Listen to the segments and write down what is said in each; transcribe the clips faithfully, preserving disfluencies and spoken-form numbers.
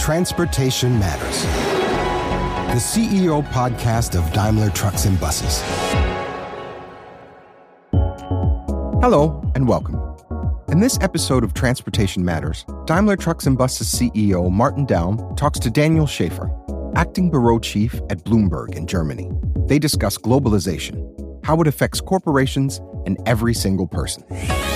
Transportation Matters, the C E O podcast of Daimler Trucks and Buses. Hello, and welcome. In this episode of Transportation Matters, Daimler Trucks and Buses C E O Martin Daum talks to Daniel Schäfer, acting bureau chief at Bloomberg in Germany. They discuss globalization, how it affects corporations and every single person.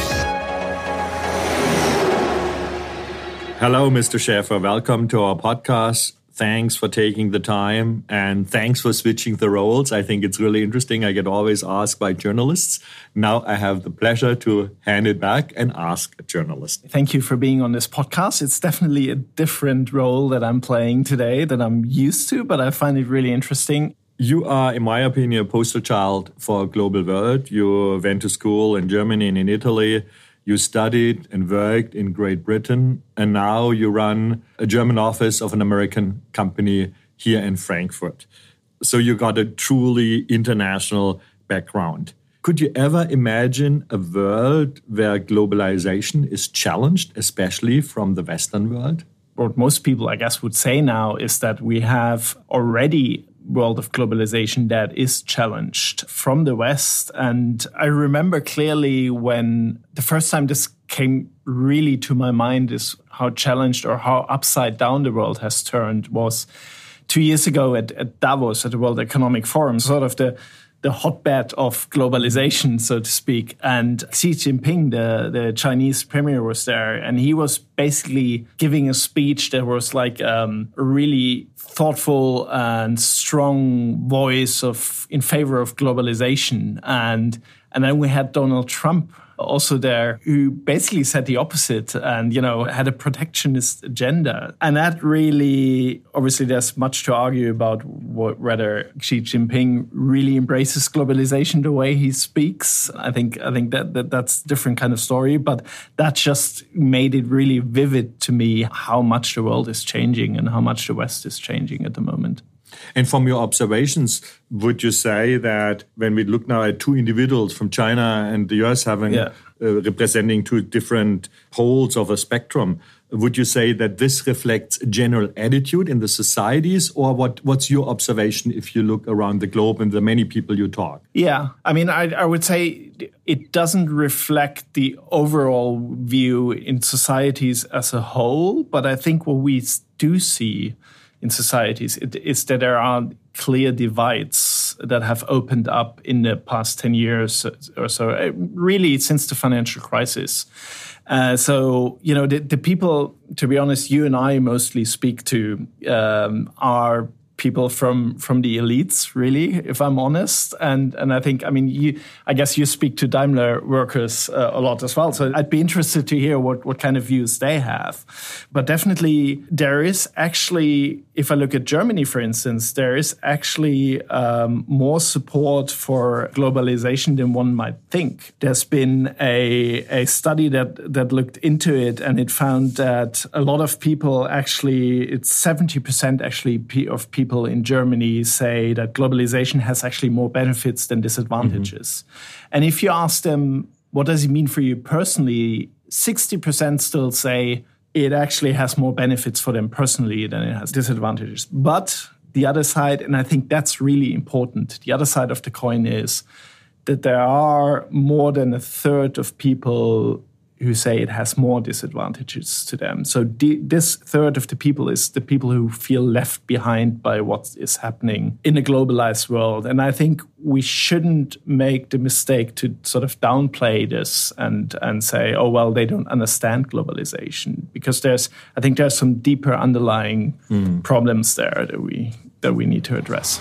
Hello, Mister Schäfer. Welcome to our podcast. Thanks for taking the time and thanks for switching the roles. I think it's really interesting. I get always asked by journalists. Now I have the pleasure to hand it back and ask a journalist. Thank you for being on this podcast. It's definitely a different role that I'm playing today that I'm used to, but I find it really interesting. You are, in my opinion, a poster child for a global world. You went to school in Germany and in Italy. You studied and worked in Great Britain, and now you run a German office of an American company here in Frankfurt. So you got a truly international background. Could you ever imagine a world where globalization is challenged, especially from the Western world? What most people, I guess, would say now is that we have already world of globalization that is challenged from the West. And I remember clearly when the first time this came really to my mind is how challenged or how upside down the world has turned was two years ago at, at Davos, at the World Economic Forum, sort of the the hotbed of globalization, so to speak. And Xi Jinping, the, the Chinese premier, was there. And he was basically giving a speech that was like um, a really thoughtful and strong voice of in favor of globalization. And, and then we had Donald Trump also there, who basically said the opposite and, you know, had a protectionist agenda. And that really, obviously, there's much to argue about what, whether Xi Jinping really embraces globalization the way he speaks. I think I think that, that that's a different kind of story. But that just made it really vivid to me how much the world is changing and how much the West is changing at the moment. And from your observations, would you say that when we look now at two individuals from China and the U S having yeah. uh, representing two different poles of a spectrum, would you say that this reflects a general attitude in the societies, or what, what's your observation if you look around the globe and the many people you talk? Yeah, I mean, I, I would say it doesn't reflect the overall view in societies as a whole, but I think what we do see in societies it, is that there are clear divides that have opened up in the past ten years or so, really since the financial crisis. Uh, so, you know, the, the people, to be honest, you and I mostly speak to um, are people from from the elites, really, if I'm honest. And and I think, I mean, you, I guess you speak to Daimler workers uh, a lot as well. So I'd be interested to hear what, what kind of views they have. But definitely there is actually, if I look at Germany, for instance, there is actually um, more support for globalization than one might think. There's been a, a study that, that looked into it, and it found that a lot of people actually, it's seventy percent actually of people in Germany say that globalization has actually more benefits than disadvantages. Mm-hmm. And if you ask them, what does it mean for you personally, sixty percent still say it actually has more benefits for them personally than it has disadvantages. But the other side, and I think that's really important, the other side of the coin is that there are more than a third of people who say it has more disadvantages to them. So the, this third of the people is the people who feel left behind by what is happening in a globalized world. And I think we shouldn't make the mistake to sort of downplay this and, and say, oh, well, they don't understand globalization. Because there's, I think there's some deeper underlying mm. problems there that we that we need to address.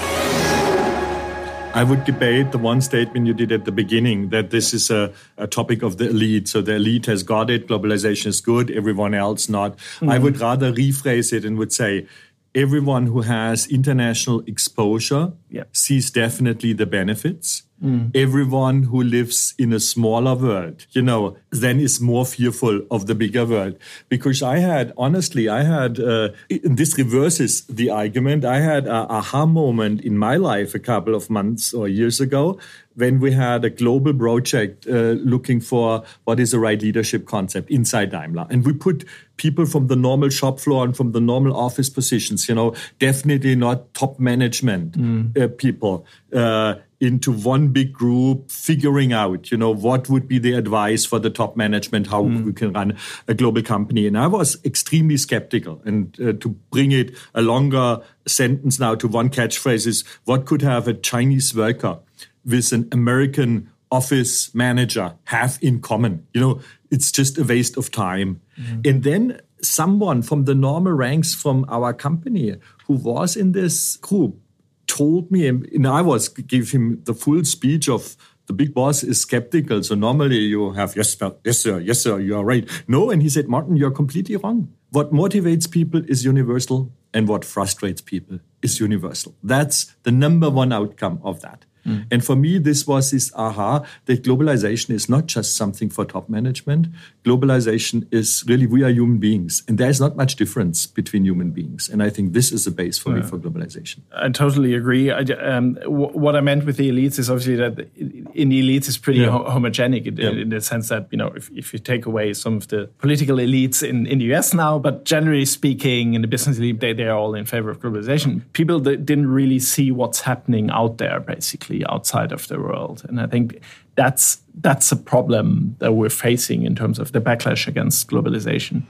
I would debate the one statement you did at the beginning, that this is a, a topic of the elite. So the elite has got it, globalization is good, everyone else not. Mm-hmm. I would rather rephrase it and would say everyone who has international exposure yeah. sees definitely the benefits. Mm. Everyone who lives in a smaller world, you know, then is more fearful of the bigger world. Because I had, honestly, I had, uh, this reverses the argument. I had an aha moment in my life a couple of months or years ago when we had a global project uh, looking for what is the right leadership concept inside Daimler. And we put people from the normal shop floor and from the normal office positions, you know, definitely not top management mm. uh, people, uh, into one big group, figuring out, you know, what would be the advice for the top management, how mm. we can run a global company. And I was extremely skeptical. And uh, to bring it a longer sentence now to one catchphrase is, what could have a Chinese worker with an American office manager have in common? You know, it's just a waste of time. Mm. And then someone from the normal ranks from our company who was in this group told me, and I was give him the full speech of the big boss is skeptical. So normally you have, yes, sir, yes, sir, yes, sir, you are right. No, and he said, Martin, you're completely wrong. What motivates people is universal, and what frustrates people is universal. That's the number one outcome of that. Mm. And for me, this was this aha, that globalization is not just something for top management. Globalization is really, we are human beings. And there's not much difference between human beings. And I think this is the base for yeah. me for globalization. I totally agree. I, um, w- what I meant with the elites is obviously that in the elites is pretty yeah. ho- homogenic in, yeah. in the sense that, you know, if, if you take away some of the political elites in, in the U S now, but generally speaking, in the business elite, they, they're all in favor of globalization. People that didn't really see what's happening out there, basically, outside of the world. And I think that's that's a problem that we're facing in terms of the backlash against globalization.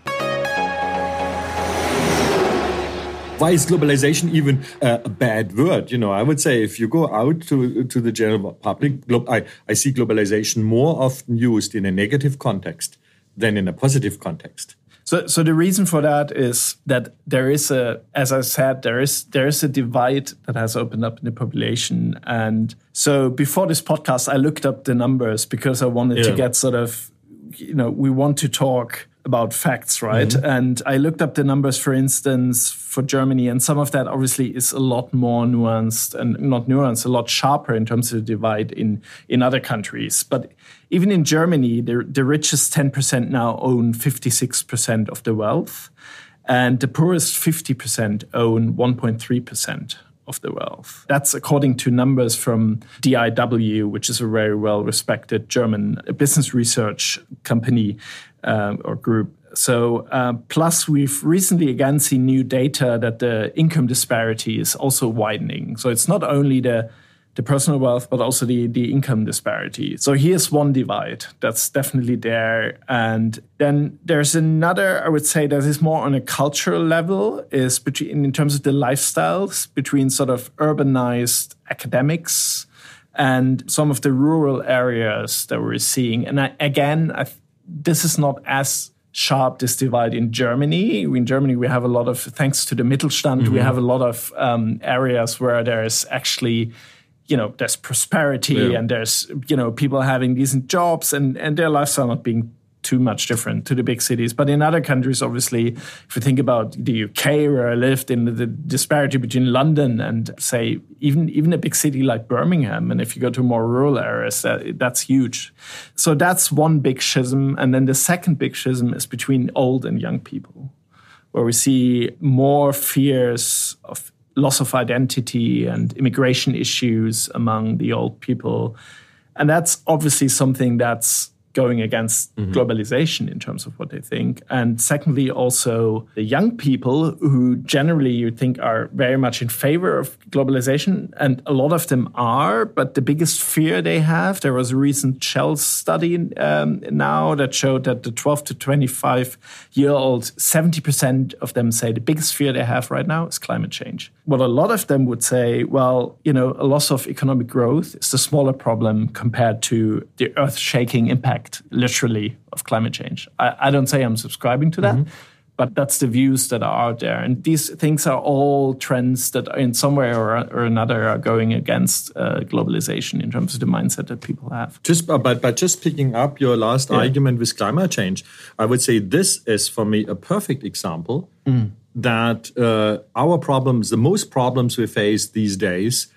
Why is globalization even uh, a bad word? You know, I would say if you go out to, to the general public, glo- I, I see globalization more often used in a negative context than in a positive context. So, so the reason for that is that there is a, as I said, there is there is a divide that has opened up in the population. And so before this podcast, I looked up the numbers because I wanted yeah. to get sort of, you know, we want to talk about facts, right? Mm-hmm. And I looked up the numbers, for instance, for Germany, and some of that obviously is a lot more nuanced and not nuanced, a lot sharper in terms of the divide in, in other countries. But even in Germany, the, the richest ten percent now own fifty-six percent of the wealth, and the poorest fifty percent own one point three percent of the wealth. That's according to numbers from D I W, which is a very well-respected German business research company uh, or group. So uh, plus we've recently again seen new data that the income disparity is also widening. So it's not only the the personal wealth, but also the, the income disparity. So here's one divide that's definitely there. And then there's another, I would say, that is more on a cultural level, is between in terms of the lifestyles between sort of urbanized academics and some of the rural areas that we're seeing. And I, again, I, this is not as sharp, this divide in Germany. In Germany, we have a lot of, thanks to the Mittelstand, mm-hmm. we have a lot of um, areas where there's actually, you know, there's prosperity yeah. and there's, you know, people having decent jobs and, and their lifestyle not being too much different to the big cities. But in other countries, obviously, if you think about the U K, where I lived, in the disparity between London and, say, even, even a big city like Birmingham, and if you go to more rural areas, that, that's huge. So that's one big schism. And then the second big schism is between old and young people, where we see more fears of loss of identity and immigration issues among the old people. And that's obviously something that's going against mm-hmm. globalization in terms of what they think. And secondly, also the young people who generally you think are very much in favor of globalization, and a lot of them are, but the biggest fear they have, there was a recent Shell study um, now that showed that the twelve to twenty-five-year-olds, seventy percent of them say the biggest fear they have right now is climate change. What a lot of them would say, well, you know, a loss of economic growth is the smaller problem compared to the earth-shaking impact, literally, of climate change. I, I don't say I'm subscribing to that, mm-hmm. but that's the views that are out there. And these things are all trends that in some way or, or another are going against uh, globalization in terms of the mindset that people have. Just, but, but just picking up your last yeah. argument with climate change, I would say this is, for me, a perfect example mm. that uh, our problems, the most problems we face these days,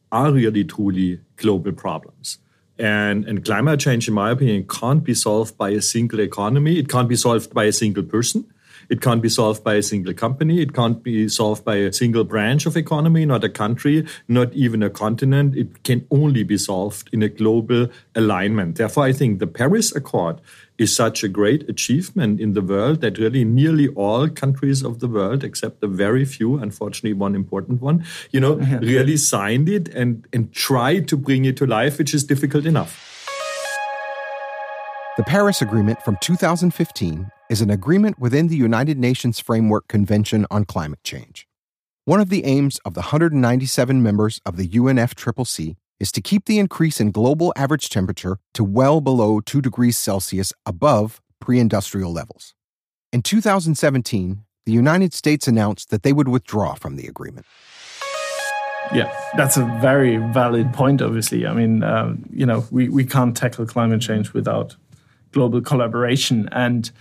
are really truly global problems. And, and climate change, in my opinion, can't be solved by a single economy. It can't be solved by a single person. It can't be solved by a single company. It can't be solved by a single branch of economy, not a country, not even a continent. It can only be solved in a global alignment. Therefore, I think the Paris Accord is such a great achievement in the world that really nearly all countries of the world, except a very few, unfortunately one important one, you know, yeah. really signed it and, and tried to bring it to life, which is difficult enough. The Paris Agreement from two thousand fifteen is an agreement within the United Nations Framework Convention on Climate Change. One of the aims of the one hundred ninety-seven members of the U N F C C C is to keep the increase in global average temperature to well below two degrees Celsius above pre-industrial levels. In two thousand seventeen, the United States announced that they would withdraw from the agreement. Yeah, that's a very valid point, obviously. I mean, uh, you know, we, we can't tackle climate change without global collaboration. And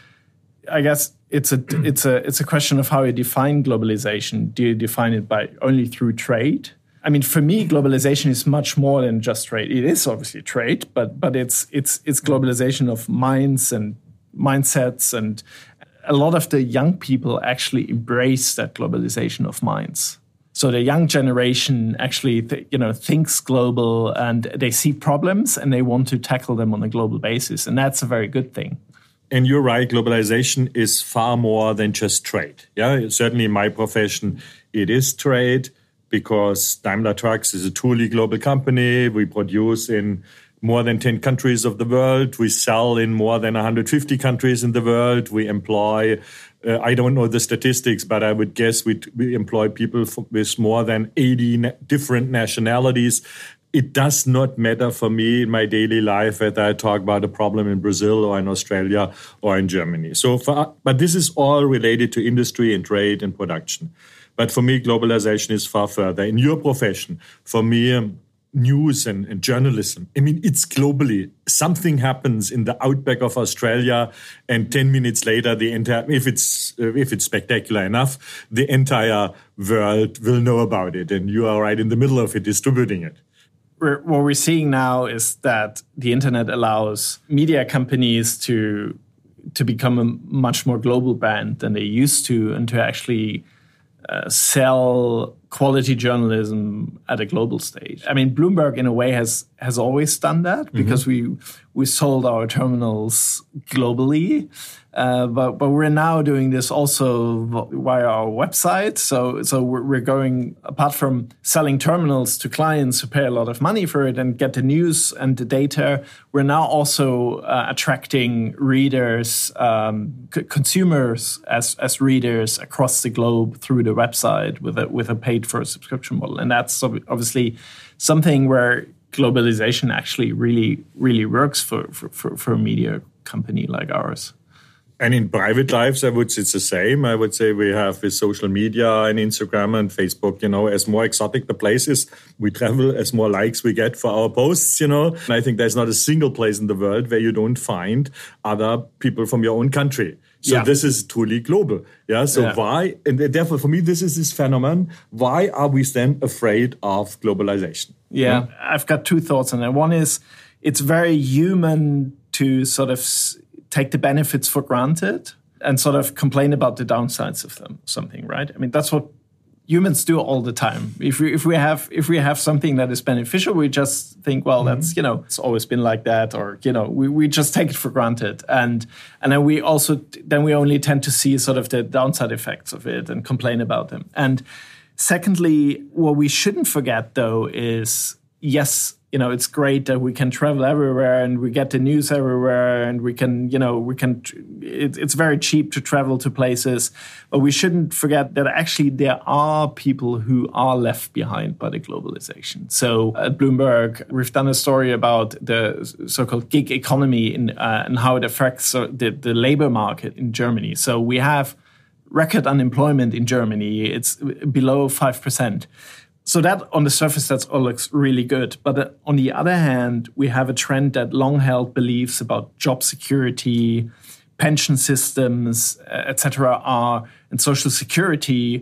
I guess it's a it's a it's a question of how you define globalization. Do you define it by only through trade? I mean, for me, globalization is much more than just trade. It is obviously trade, but but it's it's it's globalization of minds and mindsets, and a lot of the young people actually embrace that globalization of minds. So the young generation actually, th- you know, thinks global, and they see problems and they want to tackle them on a global basis, and that's a very good thing. And you're right, globalization is far more than just trade. Yeah, certainly in my profession, it is trade because Daimler Trucks is a truly global company. We produce in more than ten countries of the world. We sell in more than one hundred fifty countries in the world. We employ, uh, I don't know the statistics, but I would guess we, we employ people f- with more than eighty na- different nationalities. It does not matter for me in my daily life whether I talk about a problem in Brazil or in Australia or in Germany. So, for, but this is all related to industry and trade and production. But for me, globalization is far further. In your profession, for me, um, news and, and journalism, I mean, it's globally. Something happens in the outback of Australia, and ten minutes later, the entire, if it's uh, if it's spectacular enough, the entire world will know about it, and you are right in the middle of it, distributing it. We're, what we're seeing now is that the internet allows media companies to to become a much more global brand than they used to, and to actually uh, sell quality journalism at a global stage. I mean, Bloomberg, in a way, has has always done that because mm-hmm. we we sold our terminals globally. Uh, but but we're now doing this also via our website. So so we're, we're going, apart from selling terminals to clients who pay a lot of money for it and get the news and the data, we're now also uh, attracting readers, um, c- consumers as as readers across the globe through the website with a with a paid for a subscription model. And that's obviously something where globalization actually really really works for for, for, for a media company like ours. And in private lives, I would say it's the same. I would say we have with social media and Instagram and Facebook, you know, as more exotic the places we travel, as more likes we get for our posts, you know. And I think there's not a single place in the world where you don't find other people from your own country. So yeah. This is truly global. Yeah. So yeah. why, and therefore for me, this is this phenomenon. Why are we then afraid of globalization? Yeah. yeah. I've got two thoughts on that. One is it's very human to sort of take the benefits for granted and sort of complain about the downsides of them, something, right? I mean, that's what humans do all the time. If we if we have if we have something that is beneficial, we just think, well, mm-hmm. that's, you know, it's always been like that, or, you know, we, we just take it for granted. And and then we also then we only tend to see sort of the downside effects of it and complain about them. And secondly, what we shouldn't forget, though, is, yes, you know, it's great that we can travel everywhere and we get the news everywhere and we can, you know, we can, it, it's very cheap to travel to places. But we shouldn't forget that actually there are people who are left behind by the globalization. So at Bloomberg, we've done a story about the so-called gig economy in, uh, and how it affects the, the labor market in Germany. So we have record unemployment in Germany. It's below five percent. So that, on the surface, that all looks really good. But on the other hand, we have a trend that long-held beliefs about job security, pension systems, et cetera, are and social security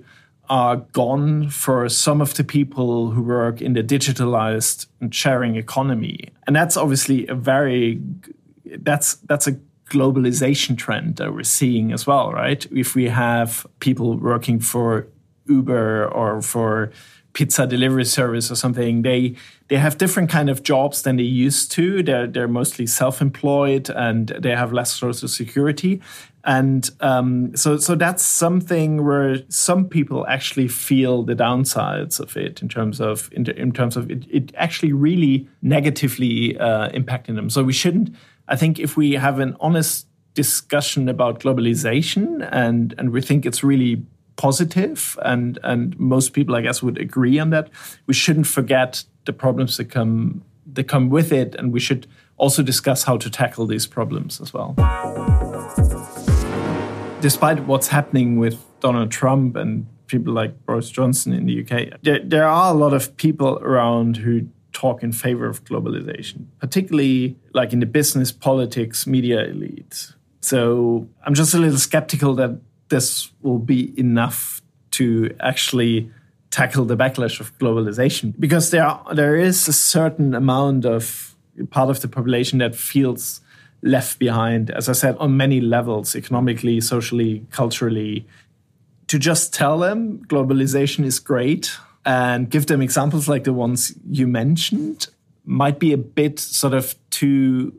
are gone for some of the people who work in the digitalized and sharing economy. And that's obviously a very, that's that's a globalization trend that we're seeing as well, right? If we have people working for Uber or for pizza delivery service or something, they they have different kind of jobs than they used to. They're they're mostly self-employed and they have less social security. And um, so so that's something where some people actually feel the downsides of it in terms of in, in terms of it, it actually really negatively uh, impacting them. So we shouldn't, I think if we have an honest discussion about globalization and, and we think it's really positive, and, and most people, I guess, would agree on that, we shouldn't forget the problems that come that come with it, and we should also discuss how to tackle these problems as well. Despite what's happening with Donald Trump and people like Boris Johnson in the U K, there, there are a lot of people around who talk in favor of globalization, particularly like in the business, politics, media elite. So I'm just a little skeptical that this will be enough to actually tackle the backlash of globalization, because there are, there is a certain amount of part of the population that feels left behind, as I said, on many levels, economically, socially, culturally. To just tell them globalization is great and give them examples like the ones you mentioned might be a bit sort of too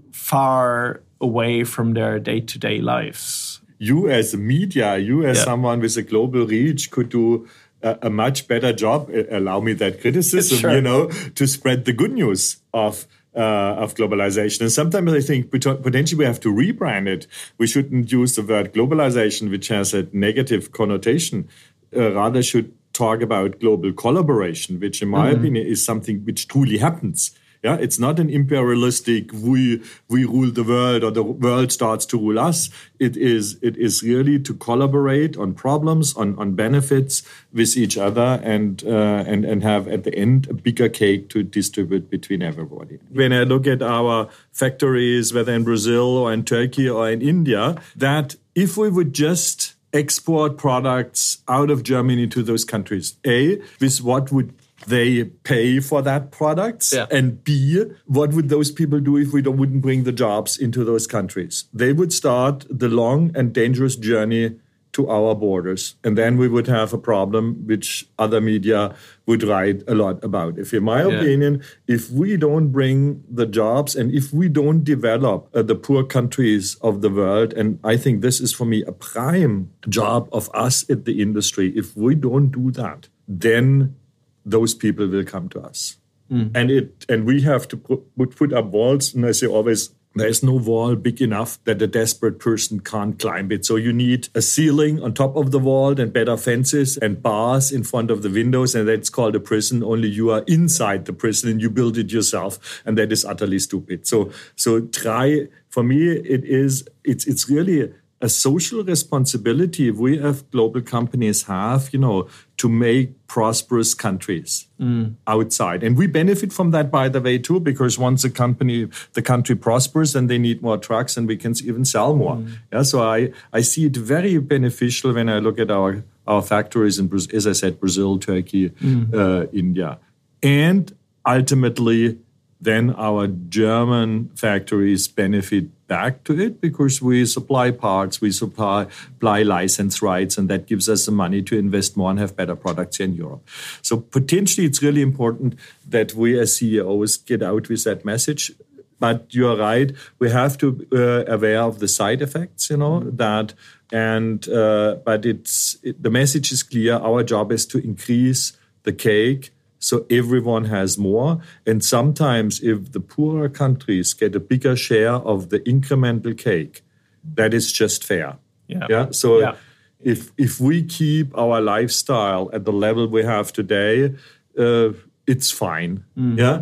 far away from their day-to-day lives. You as a media, you as yeah. someone with a global reach could do a, a much better job, allow me that criticism, sure. you know, to spread the good news of Uh, of globalization. And sometimes I think potentially we have to rebrand it. We shouldn't use the word globalization, which has a negative connotation. Uh, rather should talk about global collaboration, which in my mm-hmm. opinion is something which truly happens. Yeah, it's not an imperialistic we we rule the world or the world starts to rule us. It is it is really to collaborate on problems, on, on benefits with each other, and uh, and and have at the end a bigger cake to distribute between everybody. When I look at our factories, whether in Brazil or in Turkey or in India, that if we would just export products out of Germany to those countries, A, with what would they pay for that products, yeah. and B, what would those people do if we don't, wouldn't bring the jobs into those countries? They would start the long and dangerous journey to our borders, and then we would have a problem which other media would write a lot about. If, in my yeah. opinion, if we don't bring the jobs and if we don't develop uh, the poor countries of the world, and I think this is for me a prime job of us at the industry, if we don't do that, then those people will come to us. Mm. And it and we have to put, put up walls. And I say always, there is no wall big enough that a desperate person can't climb it. So you need a ceiling on top of the wall and better fences and bars in front of the windows. And that's called a prison. Only you are inside the prison and you build it yourself. And that is utterly stupid. So so try, for me, it is, it's it's really a social responsibility we have global companies have, you know, to make prosperous countries mm. outside. And we benefit from that, by the way, too, because once a company, the country prospers, then they need more trucks and we can even sell more. Mm. Yeah, so I, I see it very beneficial when I look at our, our factories in, as I said, Brazil, Turkey, mm. uh, India. And ultimately, then our German factories benefit back to it because we supply parts, we supply, supply license rights, and that gives us the money to invest more and have better products here in Europe. So potentially it's really important that we as C E Os get out with that message. But you're right, we have to be uh, aware of the side effects, you know, that, and uh, but it's it, the message is clear. Our job is to increase the cake so everyone has more. And sometimes if the poorer countries get a bigger share of the incremental cake, that is just fair. Yeah. Yeah. So yeah. if if we keep our lifestyle at the level we have today, uh, it's fine. Mm-hmm. Yeah.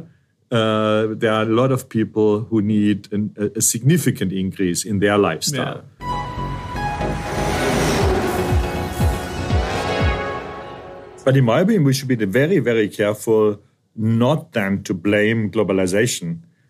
Uh, there are a lot of people who need an, a significant increase in their lifestyle. Yeah. But in my opinion, we should be very, very careful not then to blame globalization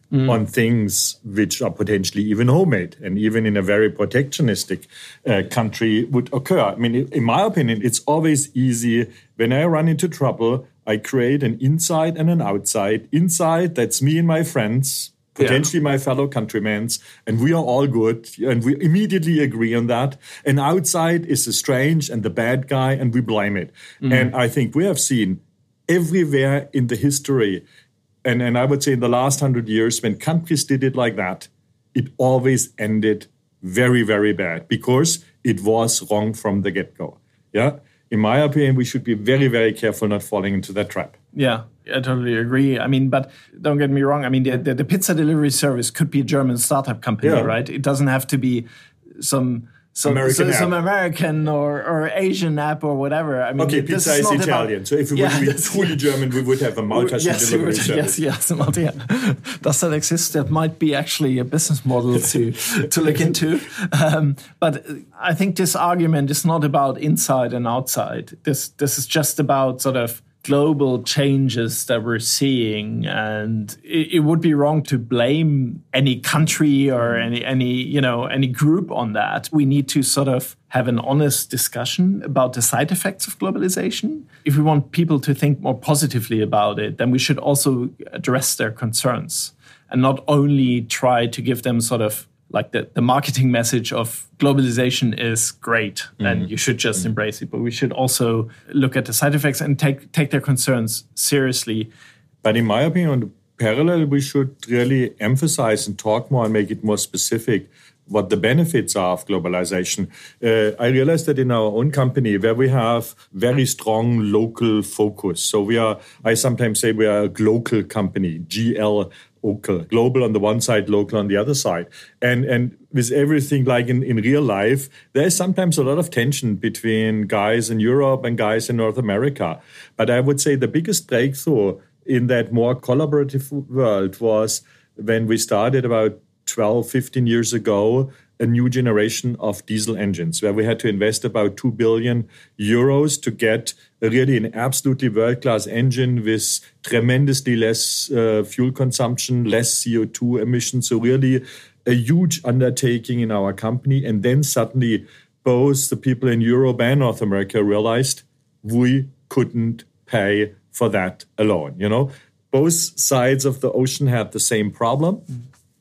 mm. on things which are potentially even homemade and even in a very protectionistic uh, country would occur. I mean, in my opinion, it's always easy. When I run into trouble, I create an inside and an outside. Inside, that's me and my friends, potentially yeah. my fellow countrymen, and we are all good, and we immediately agree on that. And outside is the strange and the bad guy, and we blame it. Mm. And I think we have seen everywhere in the history, and, and I would say in the last hundred years, when countries did it like that, it always ended very, very bad because it was wrong from the get-go. Yeah. In my opinion, we should be very, very careful not falling into that trap. Yeah, I totally agree. I mean, but don't get me wrong. I mean, the, the, the pizza delivery service could be a German startup company, yeah. right? It doesn't have to be some some American, so, some American or, or Asian app or whatever. I mean, okay, pizza is, is Italian. About, so if we yeah, would be truly German, we would have a Malta yes, delivery would, service. Yes, yes, Malta. Yeah. Does that exist? That might be actually a business model to to look into. Um, but I think this argument is not about inside and outside. This this is just about sort of global changes that we're seeing, and it, it would be wrong to blame any country or any any you know any group on that. We need to sort of have an honest discussion about the side effects of globalization. If we want people to think more positively about it, then we should also address their concerns and not only try to give them sort of like the, the marketing message of globalization is great mm-hmm. and you should just mm-hmm. embrace it. But we should also look at the side effects and take take their concerns seriously. But in my opinion, on the parallel, we should really emphasize and talk more and make it more specific what the benefits are of globalization. Uh, I realized that in our own company, where we have very strong local focus. So we are, I sometimes say we are a global company, G L Local, global on the one side, local on the other side. And and with everything like in, in real life, there is sometimes a lot of tension between guys in Europe and guys in North America. But I would say the biggest breakthrough in that more collaborative world was when we started about twelve, fifteen years ago, a new generation of diesel engines, where we had to invest about two billion euros to get really an absolutely world-class engine with tremendously less uh, fuel consumption, less C O two emissions. So really a huge undertaking in our company. And then suddenly both the people in Europe and North America realized we couldn't pay for that alone. You know, both sides of the ocean had the same problem. Mm.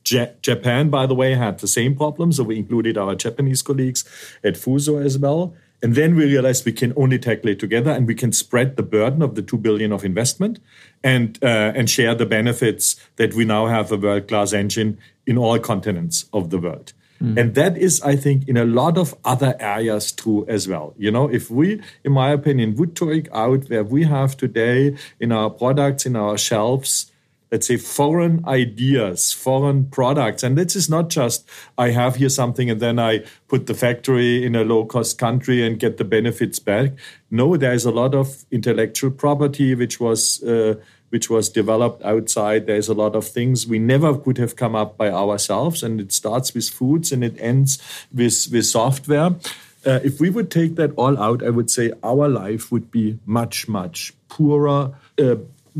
Japan, by the way, had the same problem, so we included our Japanese colleagues at Fuso as well. And then we realized we can only tackle it together, and we can spread the burden of the two billion of investment and uh, and share the benefits that we now have a world-class engine in all continents of the world. Mm. And that is, I think, in a lot of other areas true as well. You know, if we, in my opinion, would take out where we have today in our products, in our shelves, let's say foreign ideas, foreign products. And this is not just, I have here something and then I put the factory in a low-cost country and get the benefits back. No, there's a lot of intellectual property which was uh, which was developed outside. There's a lot of things we never could have come up by ourselves. And it starts with foods and it ends with, with software. Uh, if we would take that all out, I would say our life would be much, much poorer, uh,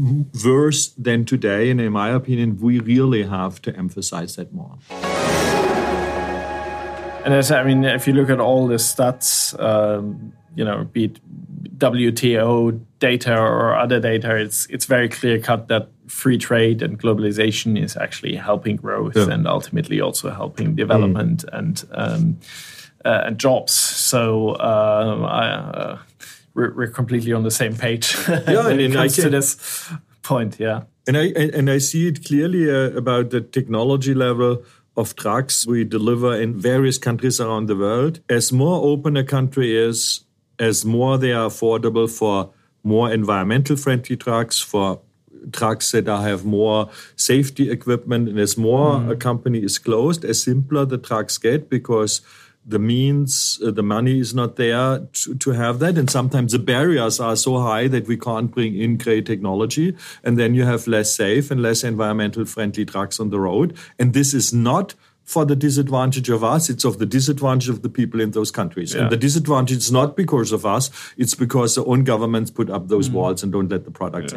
worse than today. And in my opinion, we really have to emphasize that more. And as, I mean, if you look at all the stats, um, you know, be it W T O data or other data, it's it's very clear cut that free trade and globalization is actually helping growth yeah. and ultimately also helping development mm. and um, uh, and jobs. So uh, I, uh, we're, we're completely on the same page yeah, when it comes to this point. Yeah, and I and I see it clearly uh, about the technology level of trucks we deliver in various countries around the world. As more open a country is, as more they are affordable for more environmental friendly trucks, for trucks that have more safety equipment, and as more mm. a company is closed, as simpler the trucks get because the means, uh, the money is not there to, to have that. And sometimes the barriers are so high that we can't bring in great technology. And then you have less safe and less environmental friendly trucks on the road. And this is not for the disadvantage of us, it's of the disadvantage of the people in those countries. Yeah. And the disadvantage is not because of us, it's because the own governments put up those mm. walls and don't let the products yeah. in.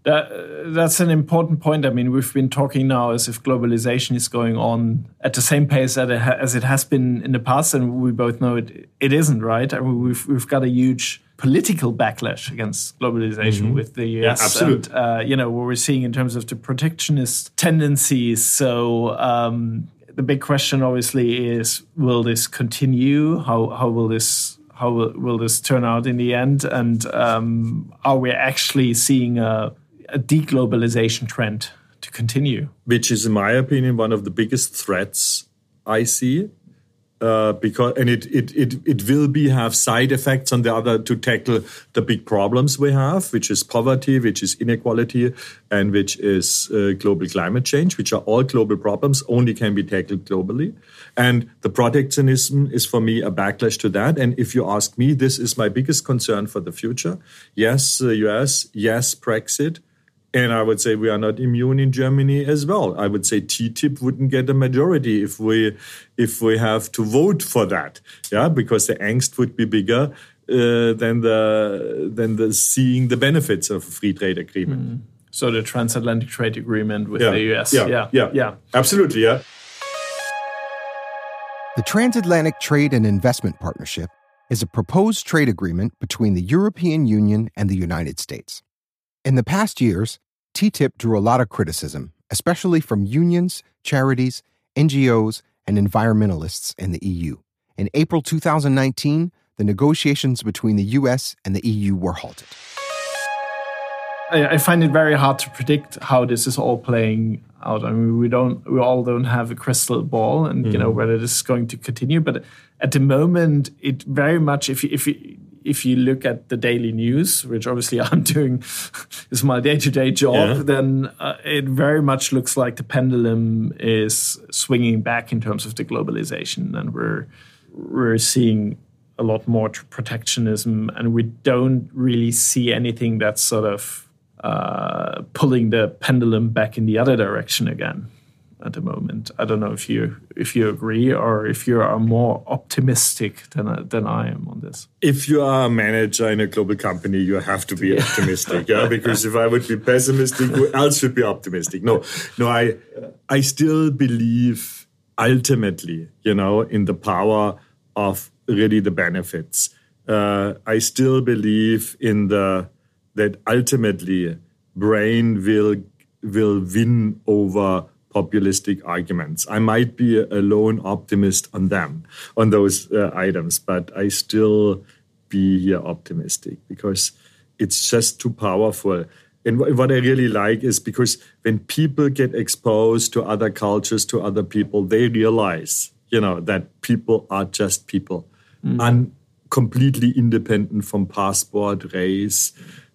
That, that's an important point. I mean, we've been talking now as if globalization is going on at the same pace as it, ha- as it has been in the past, and we both know it it isn't, right? I mean, we've we've got a huge political backlash against globalization mm-hmm. with the U S. Yeah, absolutely. And, uh, you know, what we're seeing in terms of the protectionist tendencies. So um, the big question, obviously, is: will this continue? How how will this how will, will this turn out in the end? And um, are we actually seeing a a deglobalization trend to continue? Which is, in my opinion, one of the biggest threats I see. Uh, because and it, it it it will be have side effects on the other to tackle the big problems we have, which is poverty, which is inequality, and which is uh, global climate change, which are all global problems, only can be tackled globally. And the protectionism is, for me, a backlash to that. And if you ask me, this is my biggest concern for the future. Yes, the U S, yes, Brexit. And I would say we are not immune in Germany as well. I would say T T I P wouldn't get a majority if we if we have to vote for that, yeah, because the angst would be bigger uh, than the than the seeing the benefits of a free trade agreement. Mm. So the transatlantic trade agreement with yeah. the U S, yeah. yeah, yeah, yeah, absolutely, yeah. The Transatlantic Trade and Investment Partnership is a proposed trade agreement between the European Union and the United States. In the past years, T T I P drew a lot of criticism, especially from unions, charities, N G Os, and environmentalists in the E U. In April two thousand nineteen, the negotiations between the U S and the E U were halted. I find it very hard to predict how this is all playing out. I mean, we don't, we all don't have a crystal ball, and mm-hmm. you know whether this is going to continue. But at the moment, it very much, if you, if you, if you look at the daily news, which obviously I'm doing, is my day-to-day job, yeah. then uh, it very much looks like the pendulum is swinging back in terms of the globalization, and we're we're seeing a lot more protectionism, and we don't really see anything that's sort of uh, pulling the pendulum back in the other direction again at the moment. I don't know if you if you agree, or if you are more optimistic than than I am on this. If you are a manager in a global company, you have to be yeah. optimistic, yeah. Because if I would be pessimistic, who else should be optimistic? No, no. I I still believe ultimately, you know, in the power of really the benefits. Uh, I still believe in the that ultimately brain will will win over populistic arguments. I might be a lone optimist on them, on those uh, items, but I still be here optimistic because it's just too powerful. And w- what I really like is because when people get exposed to other cultures, to other people, they realize, you know, that people are just people, mm. un- completely independent from passport, race,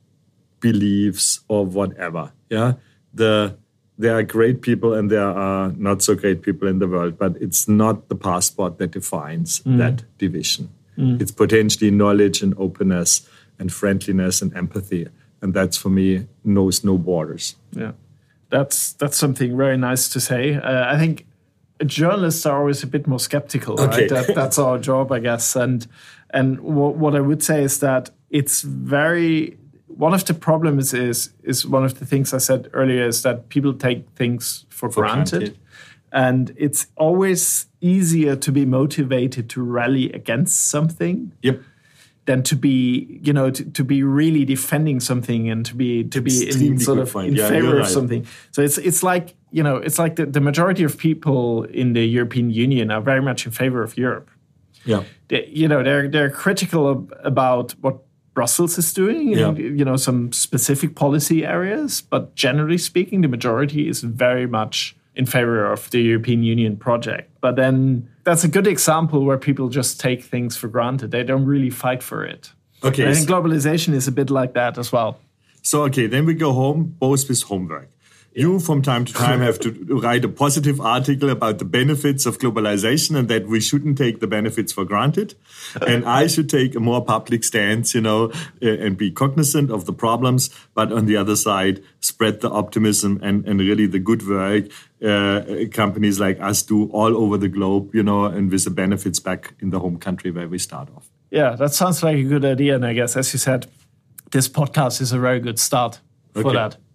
beliefs, or whatever. Yeah, the There are great people and there are not so great people in the world, but it's not the passport that defines mm. that division. Mm. It's potentially knowledge and openness and friendliness and empathy. And that's, for me, knows no borders. Yeah, that's that's something very nice to say. Uh, I think journalists are always a bit more skeptical, right? Okay. That, that's our job, I guess. And, and w- what I would say is that it's very... One of the problems is is one of the things I said earlier is that people take things for, for granted. granted. And it's always easier to be motivated to rally against something yep. than to be, you know, to, to be really defending something and to be to be in sort of point. in yeah, favor of right. something. So it's it's like, you know, it's like the, the majority of people in the European Union are very much in favor of Europe. Yeah. They, you know, they're they're critical of, about what Brussels is doing, yeah. in, you know, some specific policy areas, but generally speaking, the majority is very much in favor of the European Union project. But then that's a good example where people just take things for granted. They don't really fight for it. Okay, I think globalization is a bit like that as well. So, okay, then we go home, both with homework. You, from time to time, have to write a positive article about the benefits of globalization and that we shouldn't take the benefits for granted. And I should take a more public stance, you know, and be cognizant of the problems. But on the other side, spread the optimism and, and really the good work uh, companies like us do all over the globe, you know, and with the benefits back in the home country where we start off. Yeah, that sounds like a good idea. And I guess, as you said, this podcast is a very good start for okay. that.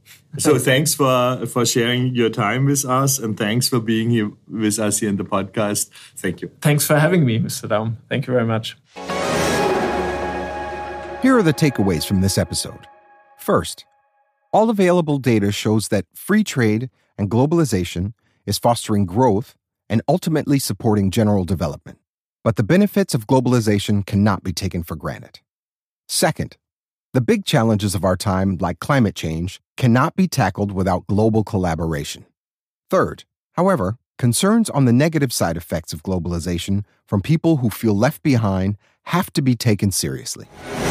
So thanks for, for sharing your time with us, and thanks for being here with us here in the podcast. Thank you. Thanks for having me, Mister Daum. Thank you very much. Here are the takeaways from this episode. First, all available data shows that free trade and globalization is fostering growth and ultimately supporting general development. But the benefits of globalization cannot be taken for granted. Second, the big challenges of our time, like climate change, cannot be tackled without global collaboration. Third, however, concerns on the negative side effects of globalization from people who feel left behind have to be taken seriously.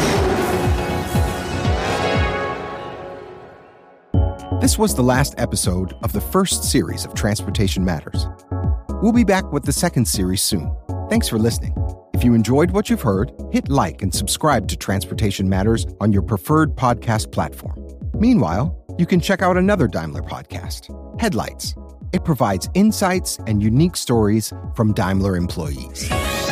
This was the last episode of the first series of Transportation Matters. We'll be back with the second series soon. Thanks for listening. If you enjoyed what you've heard, hit like and subscribe to Transportation Matters on your preferred podcast platform. Meanwhile, you can check out another Daimler podcast, Headlights. It provides insights and unique stories from Daimler employees.